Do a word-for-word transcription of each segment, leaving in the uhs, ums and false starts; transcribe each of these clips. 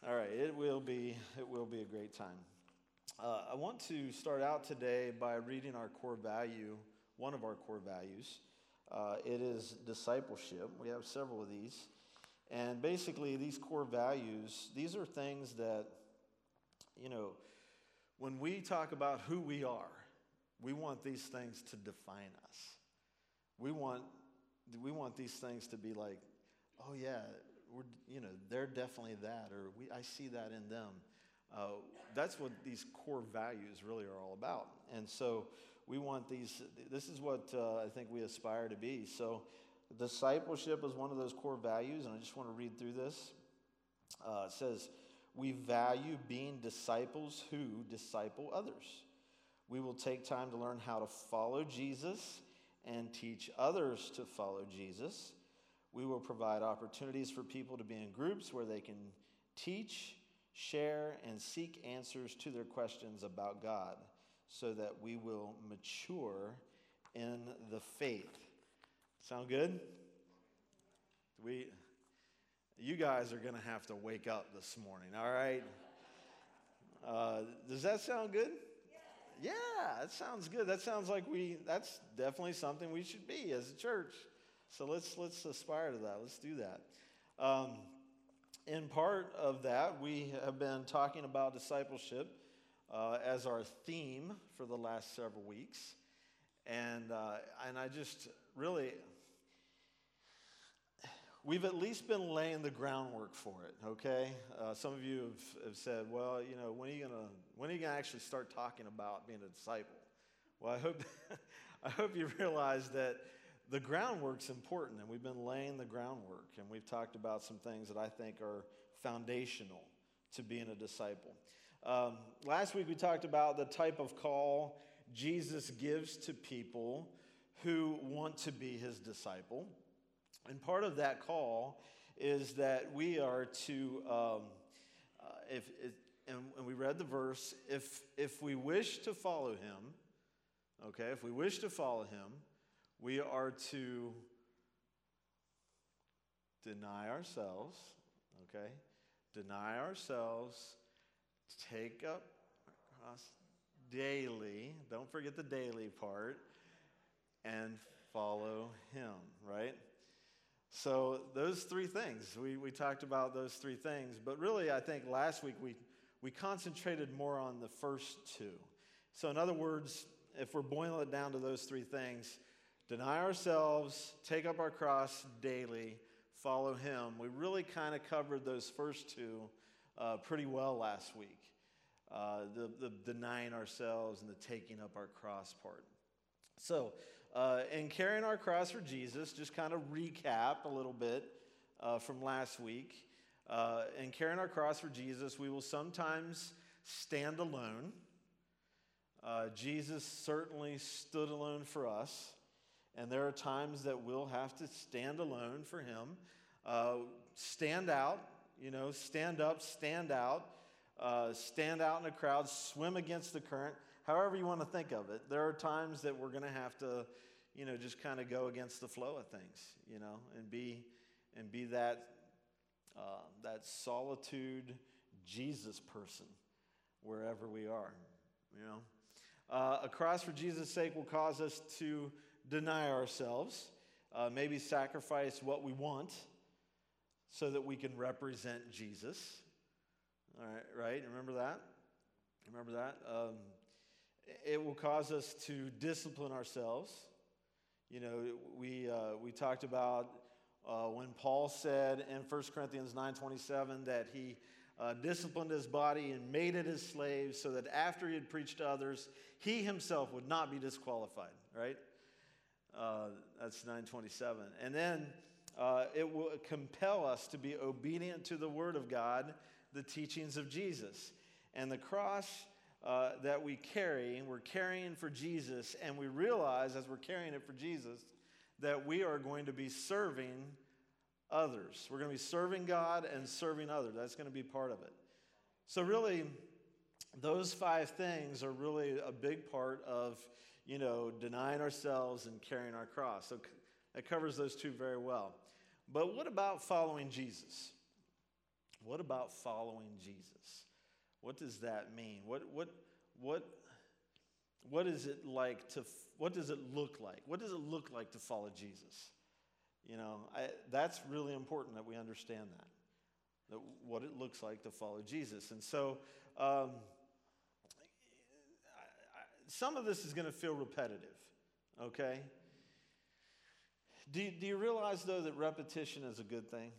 All right, it will be it will be a great time. Uh, I want to start out today by reading our core value, one of our core values. Uh, it is discipleship. We have several of these, and basically these core values, these are things that, you know, when we talk about who we are, we want these things to define us. We want we want these things to be like, oh yeah, we're, you know, they're definitely that, or we I see that in them. Uh, that's what these core values really are all about. And so we want these, this is what uh, I think we aspire to be. So discipleship is one of those core values, and I just want to read through this. Uh, it says, we value being disciples who disciple others. We will take time to learn how to follow Jesus and teach others to follow Jesus. We will provide opportunities for people to be in groups where they can teach, share, and seek answers to their questions about God so that we will mature in the faith. Sound good? We, you guys are going to have to wake up this morning, all right? Uh, does that sound good? Yeah, that sounds good. That sounds like we, that's definitely something we should be as a church. So let's let's aspire to that. Let's do that. Um, in part of that, we have been talking about discipleship uh, as our theme for the last several weeks. And, uh, and I just really, we've at least been laying the groundwork for it, okay? Uh, some of you have, have said, well, you know, when are you gonna when are you gonna actually start talking about being a disciple? Well, I hope I hope you realize that the groundwork's important, and we've been laying the groundwork, and we've talked about some things that I think are foundational to being a disciple. Um, last week we talked about the type of call Jesus gives to people who want to be his disciple. And part of that call is that we are to, um, uh, if, if and, and we read the verse, if if we wish to follow him, okay, if we wish to follow him, we are to deny ourselves, okay, deny ourselves, take up our cross daily, don't forget the daily part, and follow him, right? So those three things, we, we talked about those three things, but really I think last week we, we concentrated more on the first two. So in other words, if we're boiling it down to those three things, deny ourselves, take up our cross daily, follow him. We really kind of covered those first two uh, pretty well last week. Uh, the, the denying ourselves and the taking up our cross part. So, uh, in carrying our cross for Jesus, just kind of recap a little bit uh, from last week. Uh, in carrying our cross for Jesus, we will sometimes stand alone. Uh, Jesus certainly stood alone for us. And there are times that we'll have to stand alone for him. Uh, stand out, you know, stand up, stand out, uh, stand out in a crowd, swim against the current, however you want to think of it. There are times that we're going to have to, you know, just kind of go against the flow of things, you know, and be and be that uh, that solitude Jesus person wherever we are, you know. Uh, a cross for Jesus' sake will cause us to deny ourselves, uh, maybe sacrifice what we want so that we can represent Jesus. All right, right? Remember that? Remember that? Um, it will cause us to discipline ourselves. You know, we uh, we talked about uh, when Paul said in First Corinthians nine twenty-seven that he uh, disciplined his body and made it his slave so that after he had preached to others, he himself would not be disqualified, right? Uh, that's nine twenty-seven. And then uh, it will compel us to be obedient to the word of God, the teachings of Jesus. And the cross uh, that we carry, we're carrying for Jesus, and we realize as we're carrying it for Jesus that we are going to be serving others. We're going to be serving God and serving others. That's going to be part of it. So really, those five things are really a big part of, you know, denying ourselves and carrying our cross. So that covers those two very well. But what about following Jesus? What about following Jesus? What does that mean? What what what what is it like to what does it look like? What does it look like to follow Jesus? You know, I, that's really important that we understand that, that what it looks like to follow Jesus. And so um, I, I, some of this is going to feel repetitive, okay? Do, do you realize, though, that repetition is a good thing?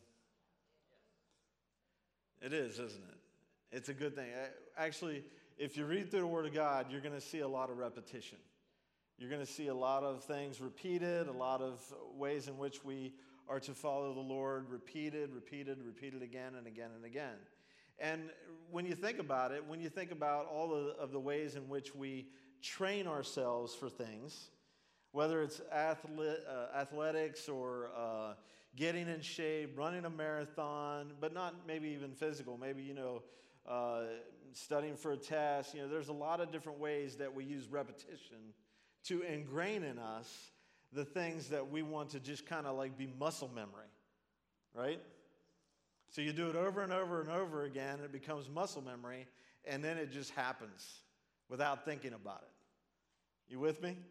It is, isn't it? It's a good thing. Actually, if you read through the Word of God, you're going to see a lot of repetition. You're going to see a lot of things repeated, a lot of ways in which we are to follow the Lord, repeated, repeated, repeated again and again and again. And when you think about it, when you think about all of, of the ways in which we train ourselves for things, whether it's athlete, uh, athletics or uh, getting in shape, running a marathon, but not maybe even physical, maybe, you know, uh, studying for a test. You know, there's a lot of different ways that we use repetition to ingrain in us the things that we want to just kind of like be muscle memory, right? So you do it over and over and over again, it becomes muscle memory, and then it just happens without thinking about it. You with me?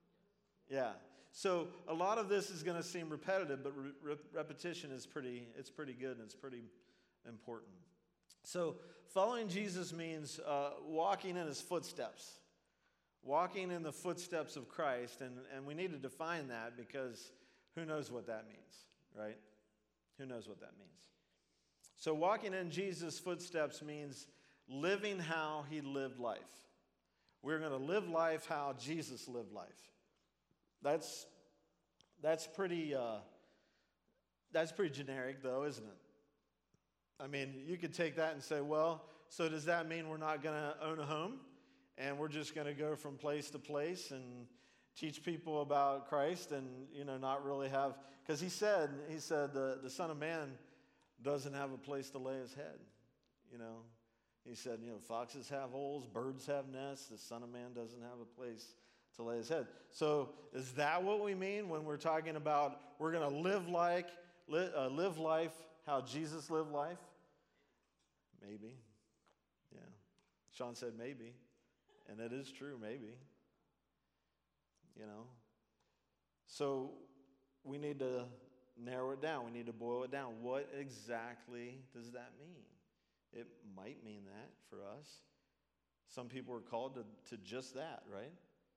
Yeah. So a lot of this is going to seem repetitive, but re- re- repetition is pretty, it's pretty good and it's pretty important. So following Jesus means uh, walking in his footsteps. Walking in the footsteps of Christ, and, and we need to define that because who knows what that means, right? Who knows what that means? So walking in Jesus' footsteps means living how he lived life. We're going to live life how Jesus lived life. That's that's pretty uh, that's pretty generic, though, isn't it? I mean, you could take that and say, well, so does that mean we're not going to own a home? And we're just going to go from place to place and teach people about Christ and, you know, not really have, because he said, he said the, the Son of Man doesn't have a place to lay his head, you know. He said, you know, foxes have holes, birds have nests, the Son of Man doesn't have a place to lay his head. So is that what we mean when we're talking about we're going to live like, li- uh, live life how Jesus lived life? Maybe. Yeah. Sean said maybe. And it is true, maybe. You know. So we need to narrow it down. We need to boil it down. What exactly does that mean? It might mean that for us. Some people are called to, to just that, right?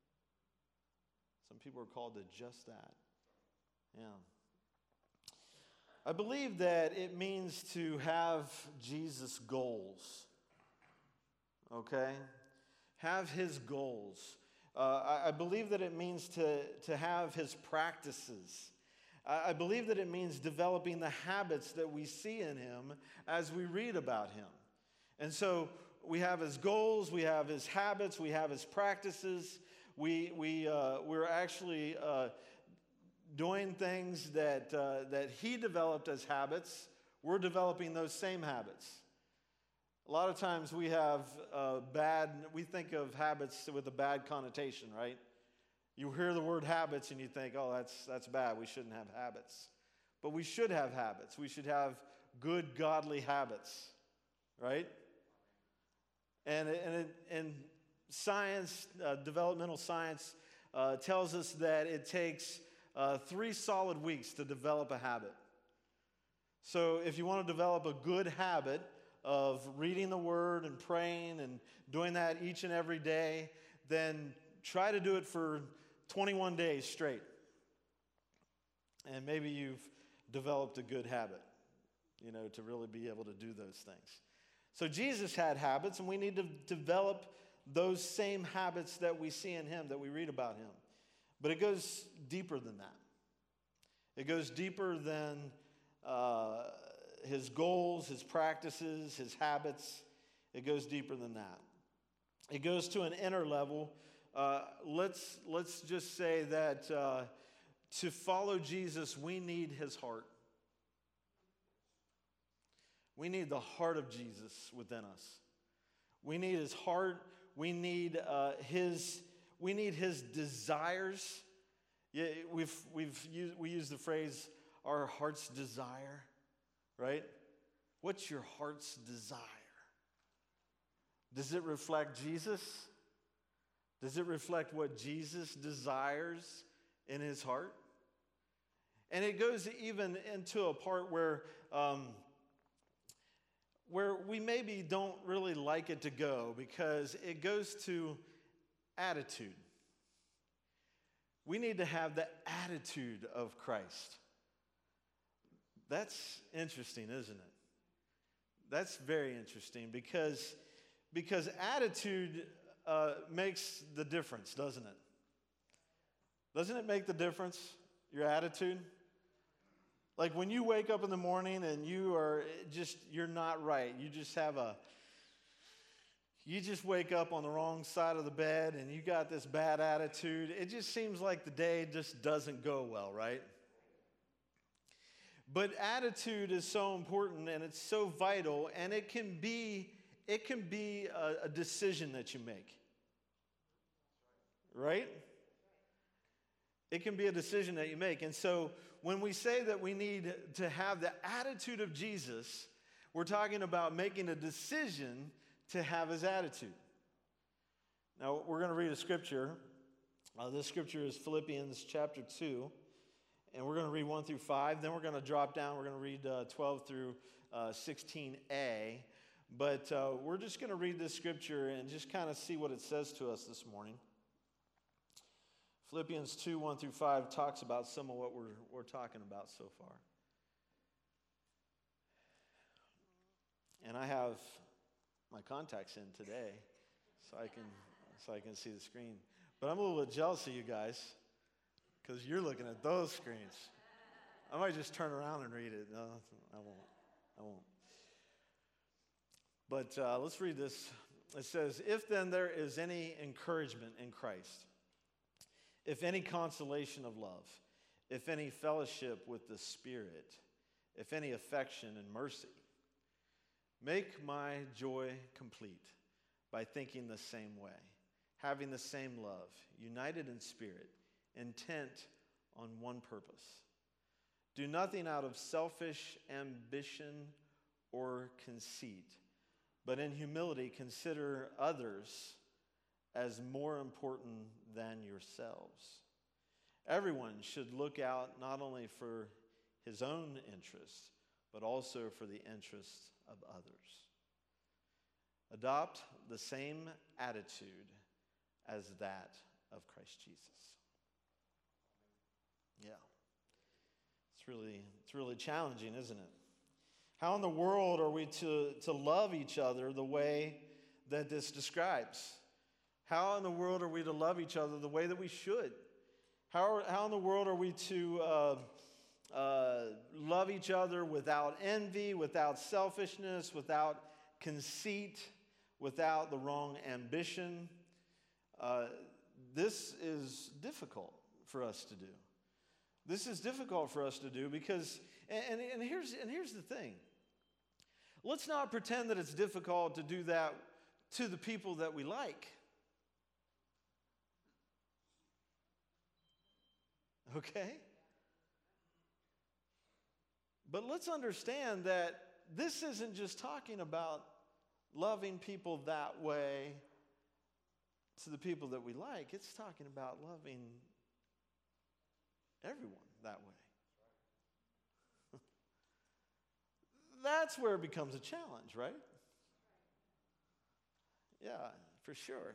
Some people are called to just that. Yeah. I believe that it means to have Jesus' goals. Okay? Have his goals. Uh, I, I believe that it means to, to have his practices. I, I believe that it means developing the habits that we see in him as we read about him. And so we have his goals, we have his habits, we have his practices. We, we, uh, we're actually uh, doing things that, uh, that he developed as habits. We're developing those same habits. A lot of times we have uh, bad, we think of habits with a bad connotation, right? You hear the word habits and you think, oh, that's, that's bad. We shouldn't have habits. But we should have habits. We should have good, godly habits, right? And, and, it, and science, uh, developmental science, uh, tells us that it takes uh, three solid weeks to develop a habit. So if you want to develop a good habit of reading the Word and praying and doing that each and every day, then try to do it for twenty-one days straight. And maybe you've developed a good habit, you know, to really be able to do those things. So Jesus had habits, and we need to develop those same habits that we see in him, that we read about him. But it goes deeper than that. It goes deeper than uh, his goals, his practices, his habits. It goes deeper than that. It goes to an inner level. Uh, let's, let's just say that uh, to follow Jesus, we need his heart. We need the heart of Jesus within us. We need his heart. We need uh, his. We need his desires. Yeah, we've we've used, we use the phrase "our heart's desire," right? What's your heart's desire? Does it reflect Jesus? Does it reflect what Jesus desires in his heart? And it goes even into a part where, um, where we maybe don't really like it to go, because it goes to attitude. We need to have the attitude of Christ. That's interesting, isn't it? That's very interesting, because, because attitude uh, makes the difference, doesn't it? Doesn't it make the difference, your attitude? Like when you wake up in the morning and you are just, you're not right. You just have a, you just wake up on the wrong side of the bed and you got this bad attitude. It just seems like the day just doesn't go well, right? But attitude is so important and it's so vital, and it can be, it can be a, a decision that you make, right? It can be a decision that you make. And so when we say that we need to have the attitude of Jesus, we're talking about making a decision to have his attitude. Now, we're going to read a scripture. Uh, this scripture is Philippians chapter two, and we're going to read one through five. Then we're going to drop down. We're going to read uh, twelve through sixteen a. But uh, we're just going to read this scripture and just kind of see what it says to us this morning. Philippians two, one through five talks about some of what we're, we're talking about so far. And I have my contacts in today so I can so I can see the screen. But I'm a little bit jealous of you guys because you're looking at those screens. I might just turn around and read it. No, I won't. I won't. But uh, let's read this. It says, "If then there is any encouragement in Christ, if any consolation of love, if any fellowship with the Spirit, if any affection and mercy, make my joy complete by thinking the same way, having the same love, united in spirit, intent on one purpose. Do nothing out of selfish ambition or conceit, but in humility consider others as more important than yourselves. Everyone should look out not only for his own interests, but also for the interests of others. Adopt the same attitude as that of Christ Jesus." Yeah. It's really, it's really challenging, isn't it? How in the world are we to, to love each other the way that this describes? How in the world are we to love each other the way that we should? How, are, how in the world are we to uh, uh, love each other without envy, without selfishness, without conceit, without the wrong ambition? Uh, this is difficult for us to do. This is difficult for us to do because, and, and, here's, and here's the thing. Let's not pretend that it's difficult to do that to the people that we like. Okay? But let's understand that this isn't just talking about loving people that way to the people that we like. It's talking about loving everyone that way. That's where it becomes a challenge, right? Yeah, for sure.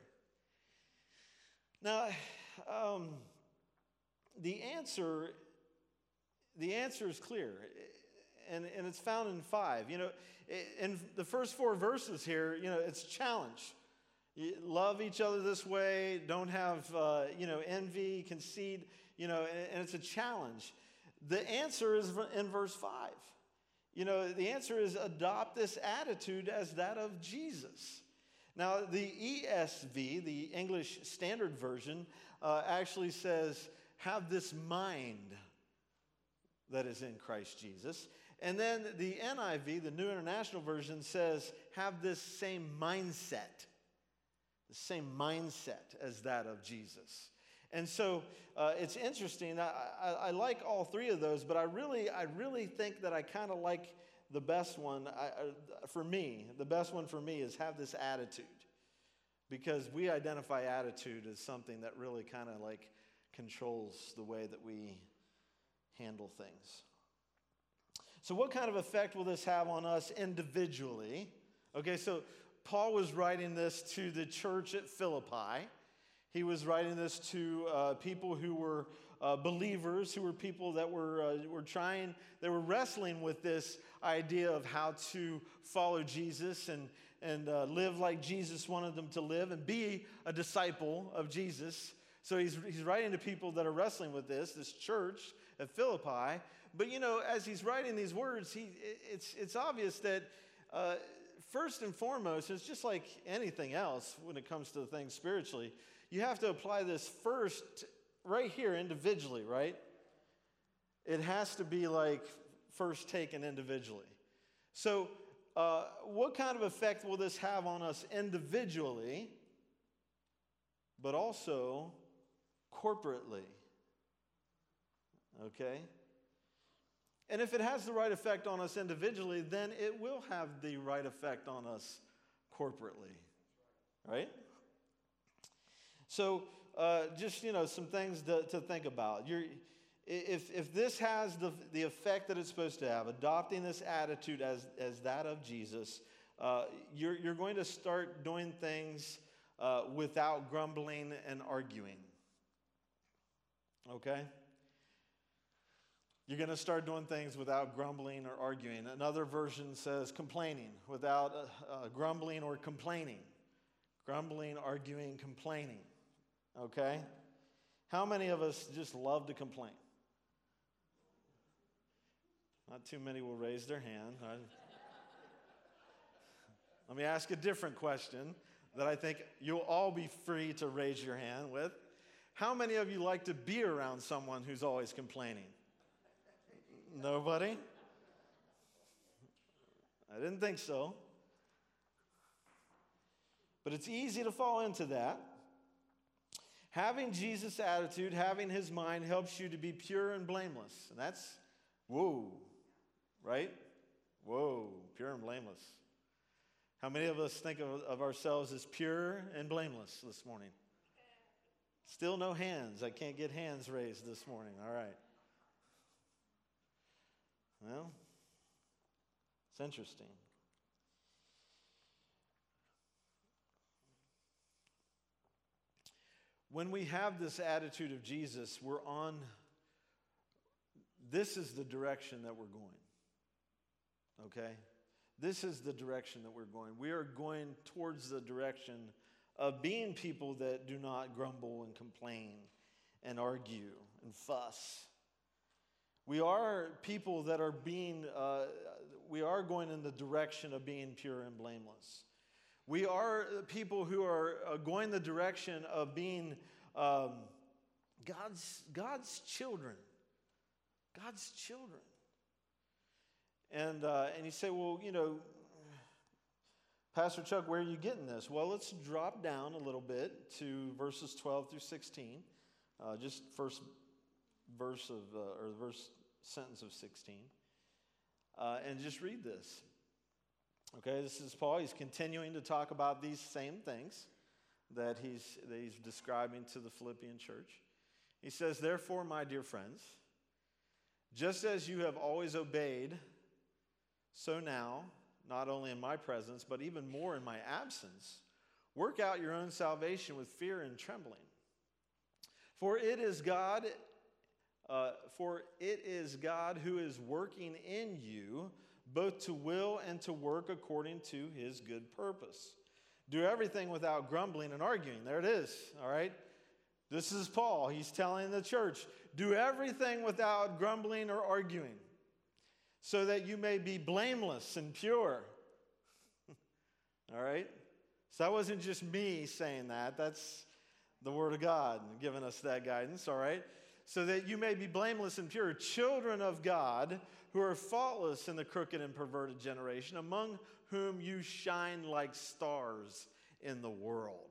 Now, um, the answer, the answer is clear, and, and it's found in five. You know, in the first four verses here, you know, it's challenge. You love each other this way. Don't have, uh, you know, envy, conceit. You know, and, and it's a challenge. The answer is in verse five. You know, the answer is adopt this attitude as that of Jesus. Now, the E S V, the English Standard Version, uh, actually says, have this mind that is in Christ Jesus. And then the N I V, the New International Version, says, have this same mindset, the same mindset as that of Jesus. And so uh, it's interesting. I, I, I like all three of those, but I really, I really think that I kind of like the best one, I, uh, for me, the best one for me is have this attitude. Because we identify attitude as something that really kind of like controls the way that we handle things. So what kind of effect will this have on us individually? Okay, so Paul was writing this to the church at Philippi. He was writing this to uh, people who were uh, believers, who were people that were uh, were trying, they were wrestling with this idea of how to follow Jesus and and uh, live like Jesus wanted them to live and be a disciple of Jesus. So he's he's writing to people that are wrestling with this, this church at Philippi. But you know, as he's writing these words, he it's it's obvious that uh, first and foremost, it's just like anything else when it comes to things spiritually. You have to apply this first right here individually, right? It has to be like first taken individually. So uh, what kind of effect will this have on us individually, but also corporately? Okay? And if it has the right effect on us individually, then it will have the right effect on us corporately. Right? So, uh, just, you know, some things to, to think about. You're, if, if this has the, the effect that it's supposed to have, adopting this attitude as, as that of Jesus, uh, you're, you're going to start doing things uh, without grumbling and arguing. Okay? You're going to start doing things without grumbling or arguing. Another version says complaining, without uh, uh, grumbling or complaining. Grumbling, arguing, complaining. Okay? How many of us just love to complain? Not too many will raise their hand. Right? Let me ask a different question that I think you'll all be free to raise your hand with. How many of you like to be around someone who's always complaining? Nobody? I didn't think so. But it's easy to fall into that. Having Jesus' attitude, having his mind helps you to be pure and blameless. And that's, whoa, right? Whoa, pure and blameless. How many of us think of, of ourselves as pure and blameless this morning? Still no hands. I can't get hands raised this morning. All right. Well, it's interesting. When we have this attitude of Jesus, we're on, this is the direction that we're going. Okay? This is the direction that we're going. We are going towards the direction of being people that do not grumble and complain and argue and fuss. We are people that are being, uh, we are going in the direction of being pure and blameless. We are people who are uh, going the direction of being um, God's, God's children. God's children. And, uh, and you say, well, you know, Pastor Chuck, where are you getting this? Well, let's drop down a little bit to verses twelve through sixteen. Uh, just first verse of, uh, or the verse sentence of sixteen. Uh, and just read this. Okay, this is Paul. He's continuing to talk about these same things that he's, that he's describing to the Philippian church. He says, therefore, my dear friends, just as you have always obeyed, so now, not only in my presence, but even more in my absence, work out your own salvation with fear and trembling. For it is God, uh, for it is God who is working in you, both to will and to work according to his good purpose. Do everything without grumbling and arguing. There it is, all right? This is Paul. He's telling the church, do everything without grumbling or arguing, so that you may be blameless and pure. All right? So that wasn't just me saying that. That's the Word of God giving us that guidance, all right? So that you may be blameless and pure, children of God, who are faultless in the crooked and perverted generation, among whom you shine like stars in the world,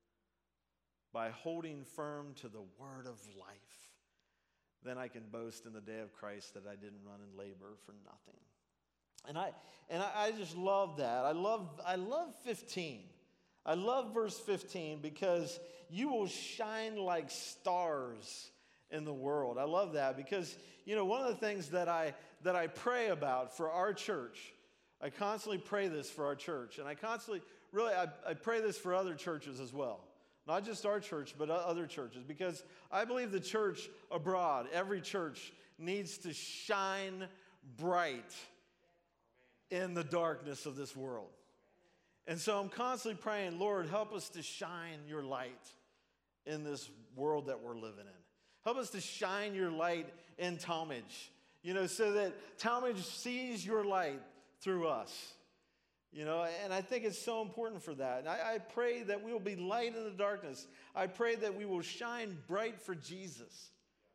by holding firm to the word of life. Then I can boast in the day of Christ that I didn't run in labor for nothing. And I and I, I just love that. I love I love fifteen. I love verse fifteen because you will shine like stars in the world. I love that because, you know, one of the things that I that I pray about for our church, I constantly pray this for our church, and I constantly really I, I pray this for other churches as well. Not just our church, but other churches, because I believe the church abroad, every church needs to shine bright in the darkness of this world. And so I'm constantly praying, Lord, help us to shine your light in this world that we're living in. Help us to shine your light in Talmadge, you know, so that Talmadge sees your light through us. You know, and I think it's so important for that. And I, I pray that we will be light in the darkness. I pray that we will shine bright for Jesus.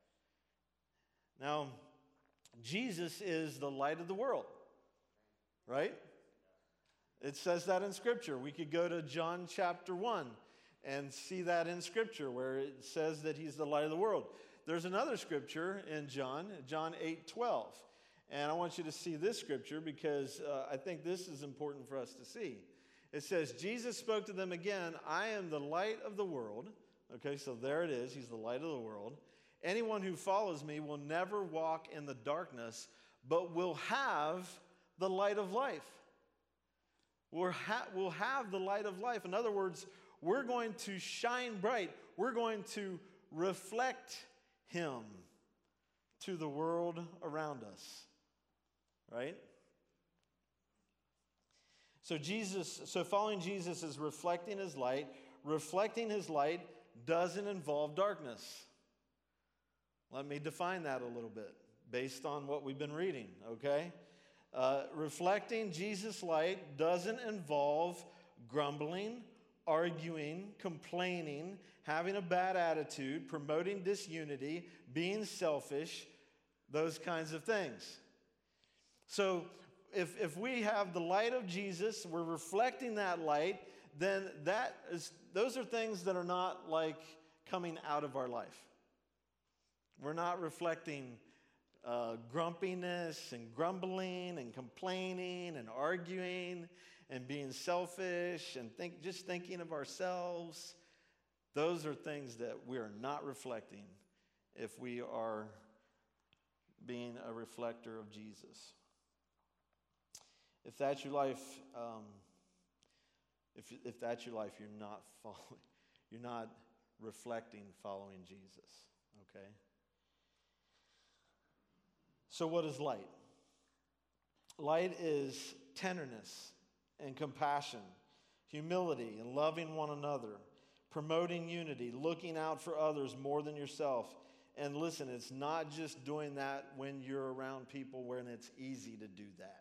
Now, Jesus is the light of the world, right? It says that in Scripture. We could go to John chapter one and see that in Scripture where it says that he's the light of the world. There's another Scripture in John, John eight twelve. And I want you to see this Scripture because uh, I think this is important for us to see. It says, Jesus spoke to them again, I am the light of the world. Okay, so there it is. He's the light of the world. Anyone who follows me will never walk in the darkness, but will have the light of life. We'll, ha- we'll have the light of life. In other words, we're going to shine bright. We're going to reflect him to the world around us. Right? So Jesus, so following Jesus is reflecting his light. Reflecting his light doesn't involve darkness. Let me define that a little bit based on what we've been reading, okay? Uh, reflecting Jesus' light doesn't involve grumbling, arguing, complaining, having a bad attitude, promoting disunity, being selfish, those kinds of things. So if, if we have the light of Jesus, we're reflecting that light, then that is, those are things that are not like coming out of our life. We're not reflecting uh, grumpiness and grumbling and complaining and arguing and being selfish and think, just thinking of ourselves. Those are things that we are not reflecting if we are being a reflector of Jesus. If that's your life, um, if if that's your life, you're not following, you're not reflecting following Jesus. Okay. So what is light? Light is tenderness and compassion, humility and loving one another, promoting unity, looking out for others more than yourself. And listen, it's not just doing that when you're around people when it's easy to do that.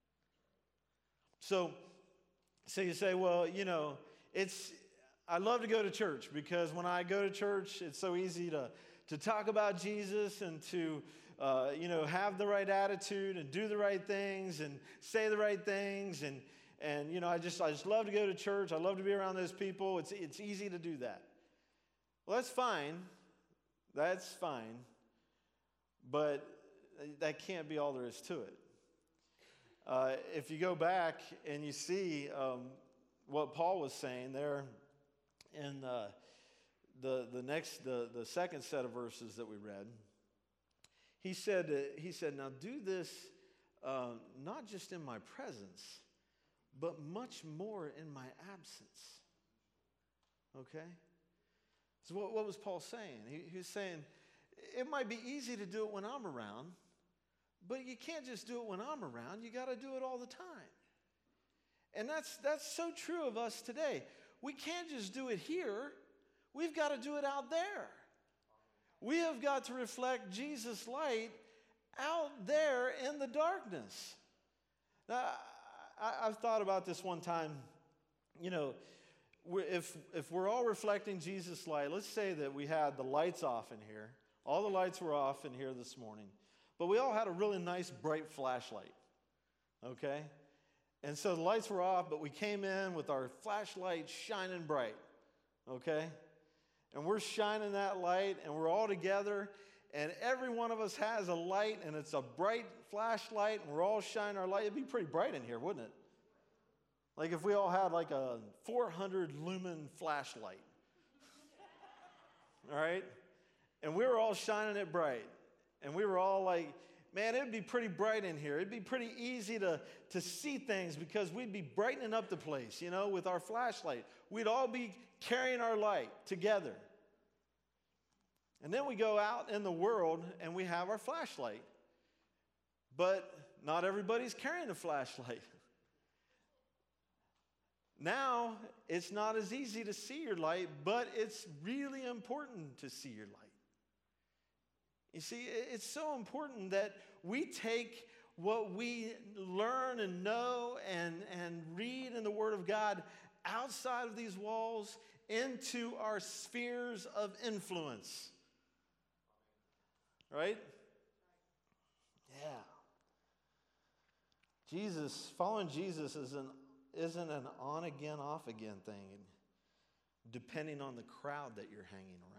So, so you say, well, you know, it's, I love to go to church because when I go to church, it's so easy to, to talk about Jesus and to, uh, you know, have the right attitude and do the right things and say the right things. And, and you know, I just, I just love to go to church. I love to be around those people. It's, it's easy to do that. Well, that's fine. That's fine. But that can't be all there is to it. Uh, if you go back and you see um, what Paul was saying there in uh, the the next the, the second set of verses that we read, he said uh, he said now do this uh, not just in my presence, but much more in my absence. Okay, so what, what was Paul saying? He, he was saying it might be easy to do it when I'm around. But you can't just do it when I'm around. You got to do it all the time. And that's that's so true of us today. We can't just do it here. We've got to do it out there. We have got to reflect Jesus' light out there in the darkness. Now, I, I've thought about this one time. You know, if if we're all reflecting Jesus' light, let's say that we had the lights off in here. All the lights were off in here this morning. But we all had a really nice bright flashlight, okay? And so the lights were off, but we came in with our flashlight shining bright, okay? And we're shining that light, and we're all together, and every one of us has a light, and it's a bright flashlight, and we're all shining our light. It'd be pretty bright in here, wouldn't it? Like if we all had like a four hundred lumen flashlight. All right? And we were all shining it bright. And we were all like, man, it'd be pretty bright in here. It'd be pretty easy to, to see things because we'd be brightening up the place, you know, with our flashlight. We'd all be carrying our light together. And then we go out in the world and we have our flashlight. But not everybody's carrying a flashlight. Now, it's not as easy to see your light, but it's really important to see your light. You see, it's so important that we take what we learn and know and, and read in the Word of God outside of these walls into our spheres of influence. Right? Yeah. Jesus, following Jesus is an, isn't an on-again, off-again thing, depending on the crowd that you're hanging around.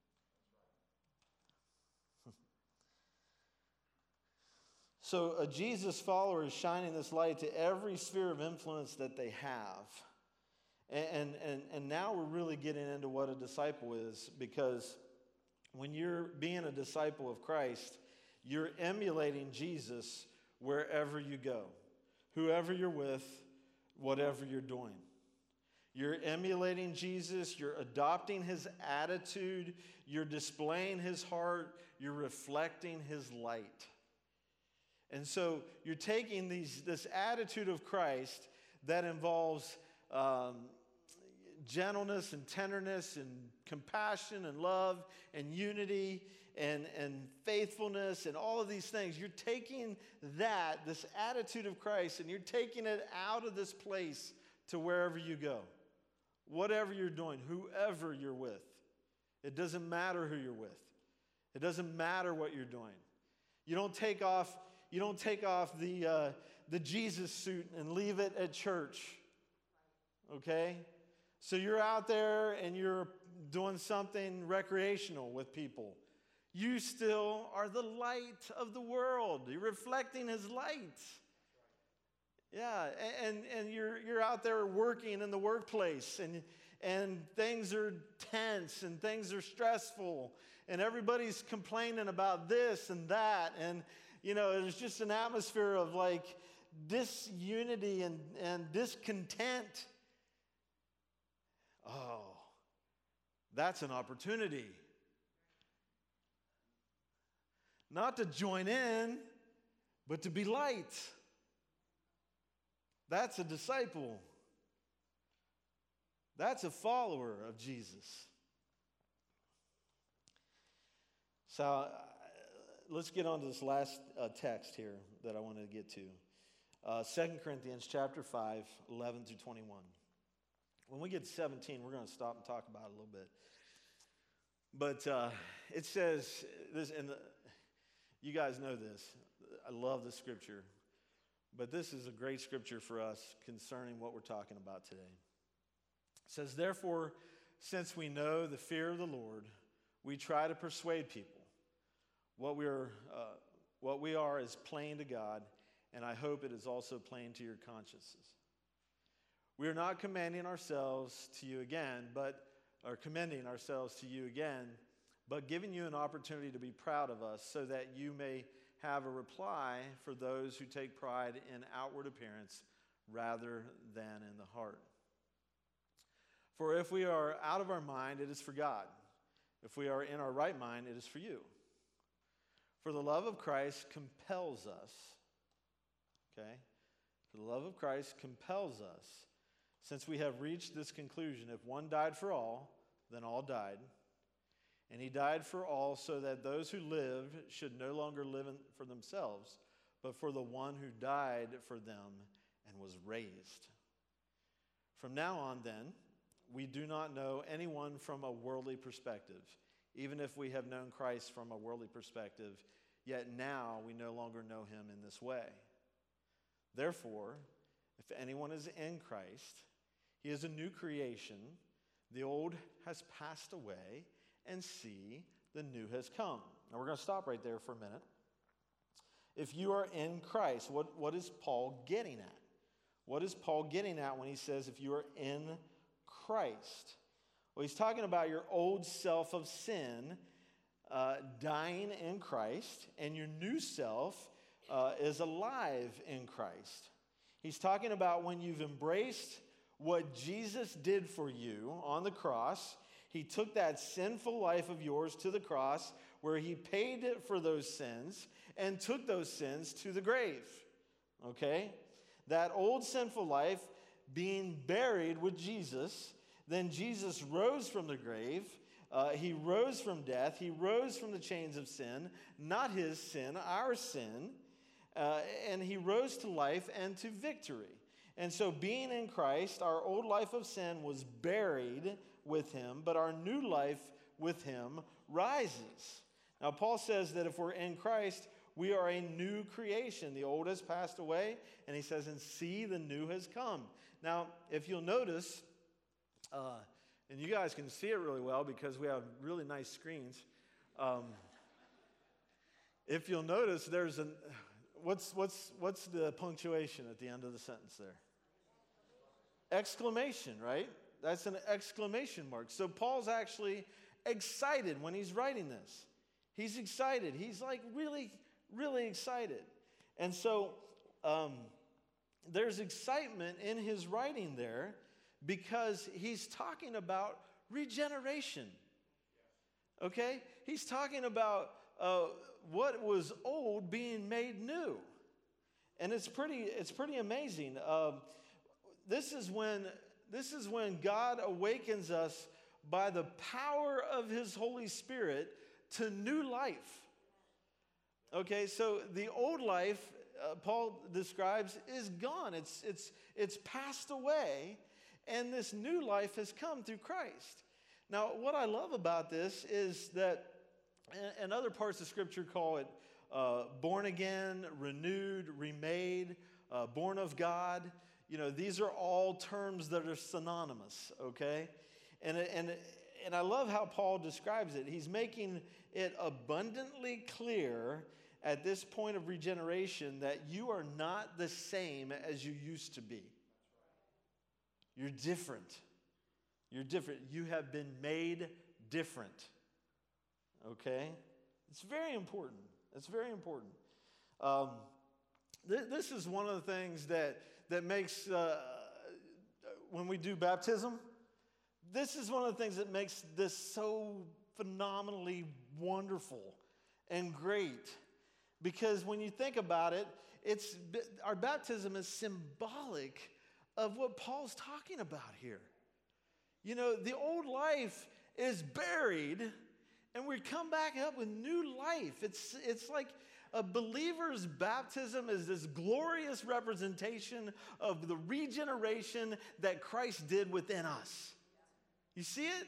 So a Jesus follower is shining this light to every sphere of influence that they have. And, and, and now we're really getting into what a disciple is, because when you're being a disciple of Christ, you're emulating Jesus wherever you go, whoever you're with, whatever you're doing. You're emulating Jesus, you're adopting his attitude, you're displaying his heart, you're reflecting his light. And so you're taking these, this attitude of Christ that involves um, gentleness and tenderness and compassion and love and unity and, and faithfulness and all of these things. You're taking that, this attitude of Christ, and you're taking it out of this place to wherever you go. Whatever you're doing, whoever you're with. It doesn't matter who you're with. It doesn't matter what you're doing. You don't take off... You don't take off the, uh, the Jesus suit and leave it at church, okay? So you're out there and you're doing something recreational with people. You still are the light of the world. You're reflecting his light. Yeah, and, and you're, you're out there working in the workplace, and, and things are tense and things are stressful, and everybody's complaining about this and that, and you know, there's just an atmosphere of like disunity and, and discontent. Oh, that's an opportunity. Not to join in, but to be light. That's a disciple. That's a follower of Jesus. So, let's get on to this last uh, text here that I wanted to get to. Uh, Second Corinthians chapter five, eleven through twenty-one. When we get to seventeen, we're going to stop and talk about it a little bit. But uh, it says, this, and the, you guys know this. I love the scripture. But this is a great scripture for us concerning what we're talking about today. It says, therefore, since we know the fear of the Lord, we try to persuade people. What we are, uh, what we are is plain to God, and I hope it is also plain to your consciences. We are not commanding ourselves to you again, but or commending ourselves to you again, but giving you an opportunity to be proud of us, so that you may have a reply for those who take pride in outward appearance rather than in the heart. For if we are out of our mind, it is for God. If we are in our right mind, it is for you. For the love of Christ compels us, okay? For the love of Christ compels us, since we have reached this conclusion: if one died for all, then all died. And he died for all, so that those who live should no longer live for themselves, but for the one who died for them and was raised. From now on, then, we do not know anyone from a worldly perspective. Even if we have known Christ from a worldly perspective, yet now we no longer know him in this way. Therefore, if anyone is in Christ, he is a new creation. The old has passed away, and see, the new has come. Now we're going to stop right there for a minute. If you are in Christ, what, what is Paul getting at? What is Paul getting at when he says if you are in Christ? Well, he's talking about your old self of sin uh, dying in Christ, and your new self uh, is alive in Christ. He's talking about when you've embraced what Jesus did for you on the cross. He took that sinful life of yours to the cross where he paid it for those sins and took those sins to the grave. Okay? That old sinful life being buried with Jesus, then Jesus rose from the grave. Uh, he rose from death. He rose from the chains of sin, not his sin, our sin. Uh, and he rose to life and to victory. And so being in Christ, our old life of sin was buried with him, but our new life with him rises. Now, Paul says that if we're in Christ, we are a new creation. The old has passed away, and he says, and see, the new has come. Now, if you'll notice, uh, and you guys can see it really well because we have really nice screens. Um, if you'll notice, there's an, what's, what's, what's the punctuation at the end of the sentence there? Exclamation, right? That's an exclamation mark. So Paul's actually excited when he's writing this. He's excited. He's like really, really excited. And so um, there's excitement in his writing there because he's talking about regeneration. Okay? He's talking about uh, what was old being made new. And it's pretty, it's pretty amazing. Uh, this is when, this is when God awakens us by the power of his Holy Spirit to new life. Okay, so the old life, uh, Paul describes, is gone. It's, it's, it's passed away, and this new life has come through Christ. Now, what I love about this is that, and other parts of Scripture call it uh, born again, renewed, remade, uh, born of God. You know, these are all terms that are synonymous, okay? And, and, and I love how Paul describes it. He's making it abundantly clear at this point of regeneration that you are not the same as you used to be. You're different. You're different. You have been made different. Okay? It's very important. It's very important. Um, th- this is one of the things that, that makes, uh, when we do baptism, this is one of the things that makes this so phenomenally wonderful and great. Because when you think about it, it's our baptism is symbolic of what Paul's talking about here. You know, the old life is buried, and we come back up with new life. It's, it's like a believer's baptism is this glorious representation of the regeneration that Christ did within us. You see it?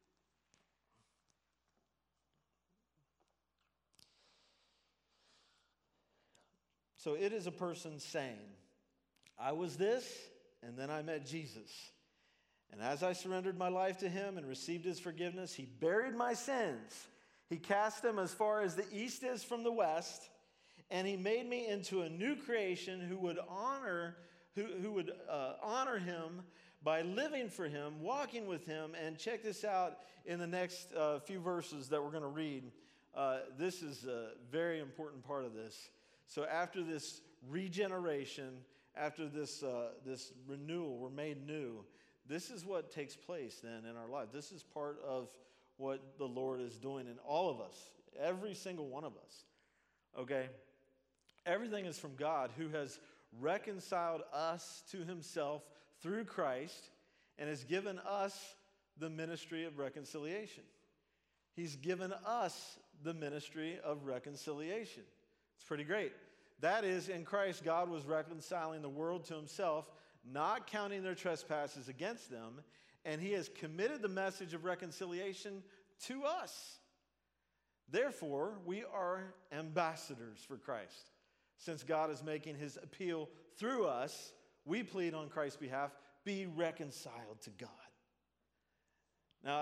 So it is a person saying, I was this, and then I met Jesus. And as I surrendered my life to him and received his forgiveness, he buried my sins. He cast them as far as the east is from the west, and he made me into a new creation who would honor, who, who would uh, honor him by living for him, walking with him. And check this out in the next uh, few verses that we're going to read. Uh, this is a very important part of this. So after this regeneration, after this, uh, this renewal, we're made new. This is what takes place then in our life. This is part of what the Lord is doing in all of us, every single one of us. Okay? Everything is from God, who has reconciled us to himself through Christ and has given us the ministry of reconciliation. He's given us the ministry of reconciliation. It's pretty great. That is, in Christ, God was reconciling the world to himself, not counting their trespasses against them, and he has committed the message of reconciliation to us. Therefore, we are ambassadors for Christ. Since God is making his appeal through us, we plead on Christ's behalf, be reconciled to God. Now,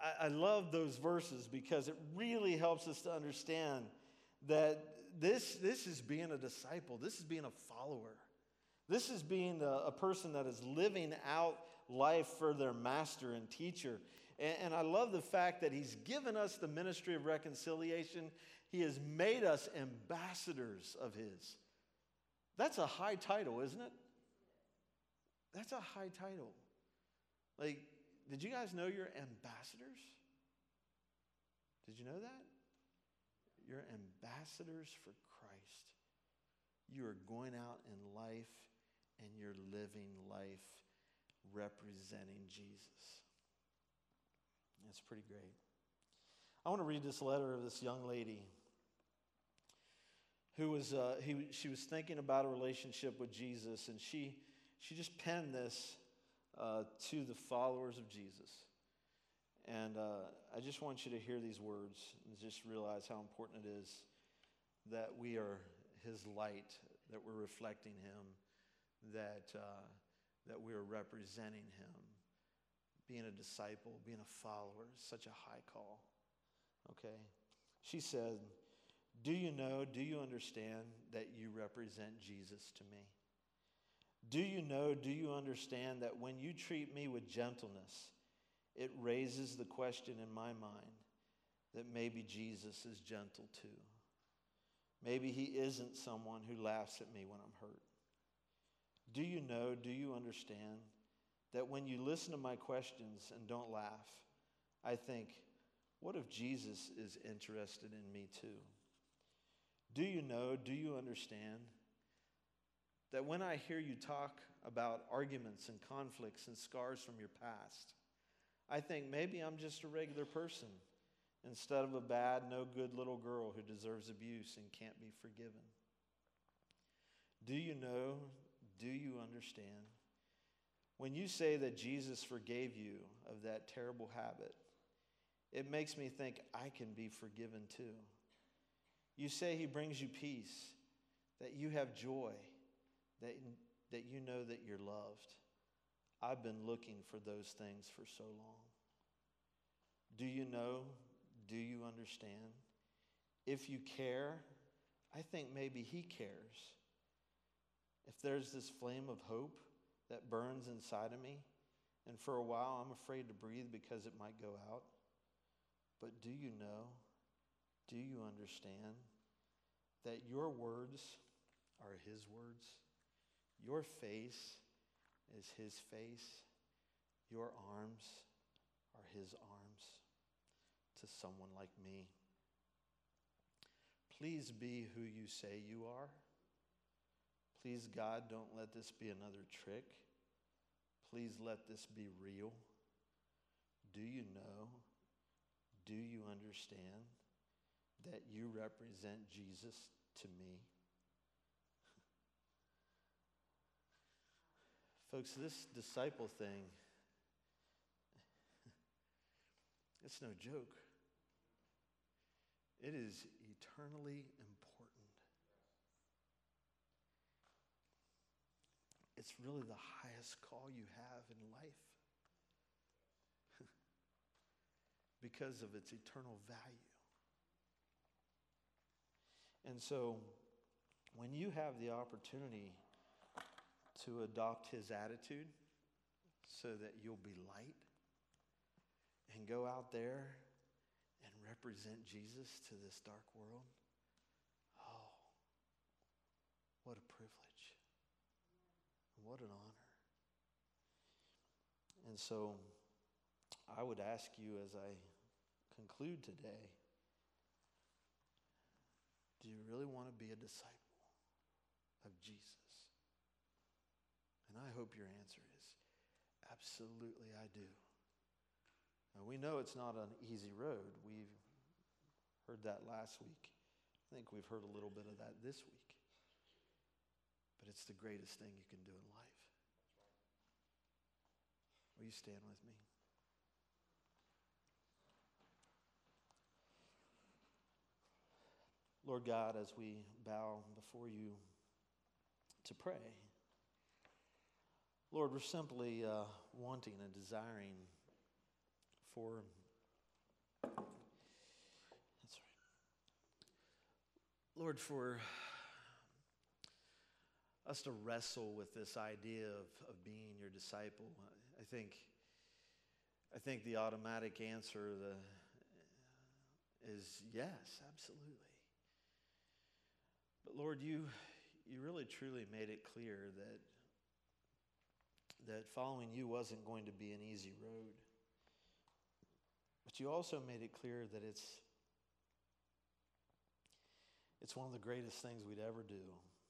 I, I love those verses because it really helps us to understand that this, this is being a disciple. This is being a follower. This is being a, a person that is living out life for their master and teacher. And, and I love the fact that he's given us the ministry of reconciliation. He has made us ambassadors of his. That's a high title, isn't it? That's a high title. Like, did you guys know you're ambassadors? Did you know that? You're ambassadors for Christ. You are going out in life and you're living life representing Jesus. That's pretty great. I want to read this letter of this young lady who was, uh, he, she was thinking about a relationship with Jesus, and she, she just penned this uh, to the followers of Jesus. And uh, I just want you to hear these words and just realize how important it is that we are his light, that we're reflecting him, that, uh, that we are representing him. Being a disciple, being a follower is such a high call. Okay? She said, "Do you know, do you understand that you represent Jesus to me? Do you know, do you understand that when you treat me with gentleness, it raises the question in my mind that maybe Jesus is gentle too. Maybe he isn't someone who laughs at me when I'm hurt. Do you know, do you understand that when you listen to my questions and don't laugh, I think, what if Jesus is interested in me too? Do you know, do you understand that when I hear you talk about arguments and conflicts and scars from your past, I think maybe I'm just a regular person instead of a bad, no good little girl who deserves abuse and can't be forgiven? Do you know, do you understand? When you say that Jesus forgave you of that terrible habit, it makes me think I can be forgiven too. You say he brings you peace, that you have joy, that, that you know that you're loved. I've been looking for those things for so long. Do you know? Do you understand? If you care, I think maybe he cares. If there's this flame of hope that burns inside of me, and for a while I'm afraid to breathe because it might go out, but do you know, do you understand that your words are his words? Your face is his face. Your arms are his arms to someone like me. Please be who you say you are. Please, God, don't let this be another trick. Please let this be real. Do you know, do you understand that you represent Jesus to me? Folks, this disciple thing, it's no joke. It is eternally important. It's really the highest call you have in life because of its eternal value. And so, when you have the opportunity to adopt his attitude so that you'll be light and go out there and represent Jesus to this dark world, oh, what a privilege. What an honor. And so I would ask you as I conclude today, do you really want to be a disciple of Jesus? And I hope your answer is absolutely I do. Now, we know it's not an easy road. We've heard that last week. I think we've heard a little bit of that this week. But it's the greatest thing you can do in life. Will you stand with me? Lord God, as we bow before you to pray, Lord, we're simply uh, wanting and desiring for That's right. Lord, for us to wrestle with this idea of, of being your disciple, I think, I think the automatic answer the, is yes, absolutely. But Lord, you, you really truly made it clear that, that following you wasn't going to be an easy road. But you also made it clear that it's, it's one of the greatest things we'd ever do.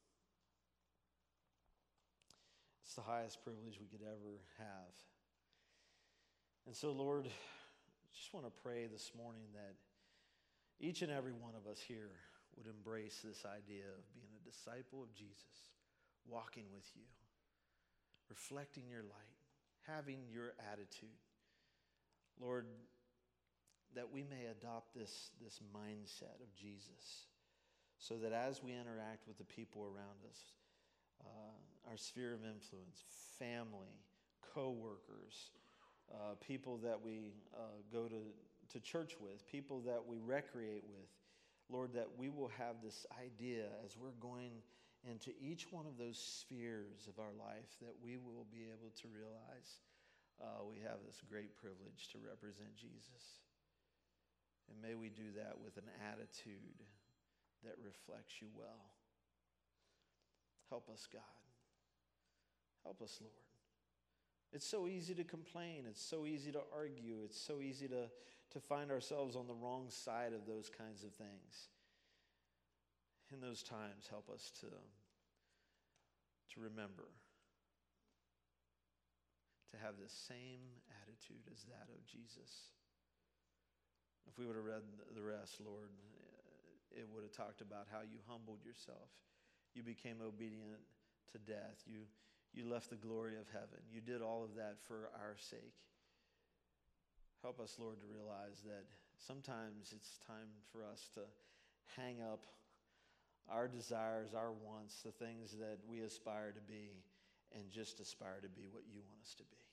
It's the highest privilege we could ever have. And so, Lord, I just want to pray this morning that each and every one of us here would embrace this idea of being a disciple of Jesus, walking with you, reflecting your light, having your attitude. Lord, that we may adopt this, this mindset of Jesus so that as we interact with the people around us, uh, our sphere of influence, family, co-workers, uh, people that we uh, go to, to church with, people that we recreate with, Lord, that we will have this idea as we're going into each one of those spheres of our life that we will be able to realize uh, we have this great privilege to represent Jesus. And may we do that with an attitude that reflects you well. Help us, God. Help us, Lord. It's so easy to complain. It's so easy to argue. It's so easy to, to find ourselves on the wrong side of those kinds of things. In those times, help us to, to remember to have the same attitude as that of Jesus. If we would have read the rest, Lord, it would have talked about how you humbled yourself. You became obedient to death. You, you left the glory of heaven. You did all of that for our sake. Help us, Lord, to realize that sometimes it's time for us to hang up our desires, our wants, the things that we aspire to be, and just aspire to be what you want us to be.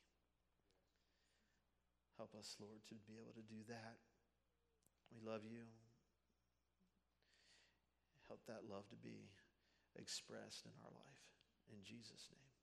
Help us, Lord, to be able to do that. We love you. Help that love to be expressed in our life. In Jesus' name.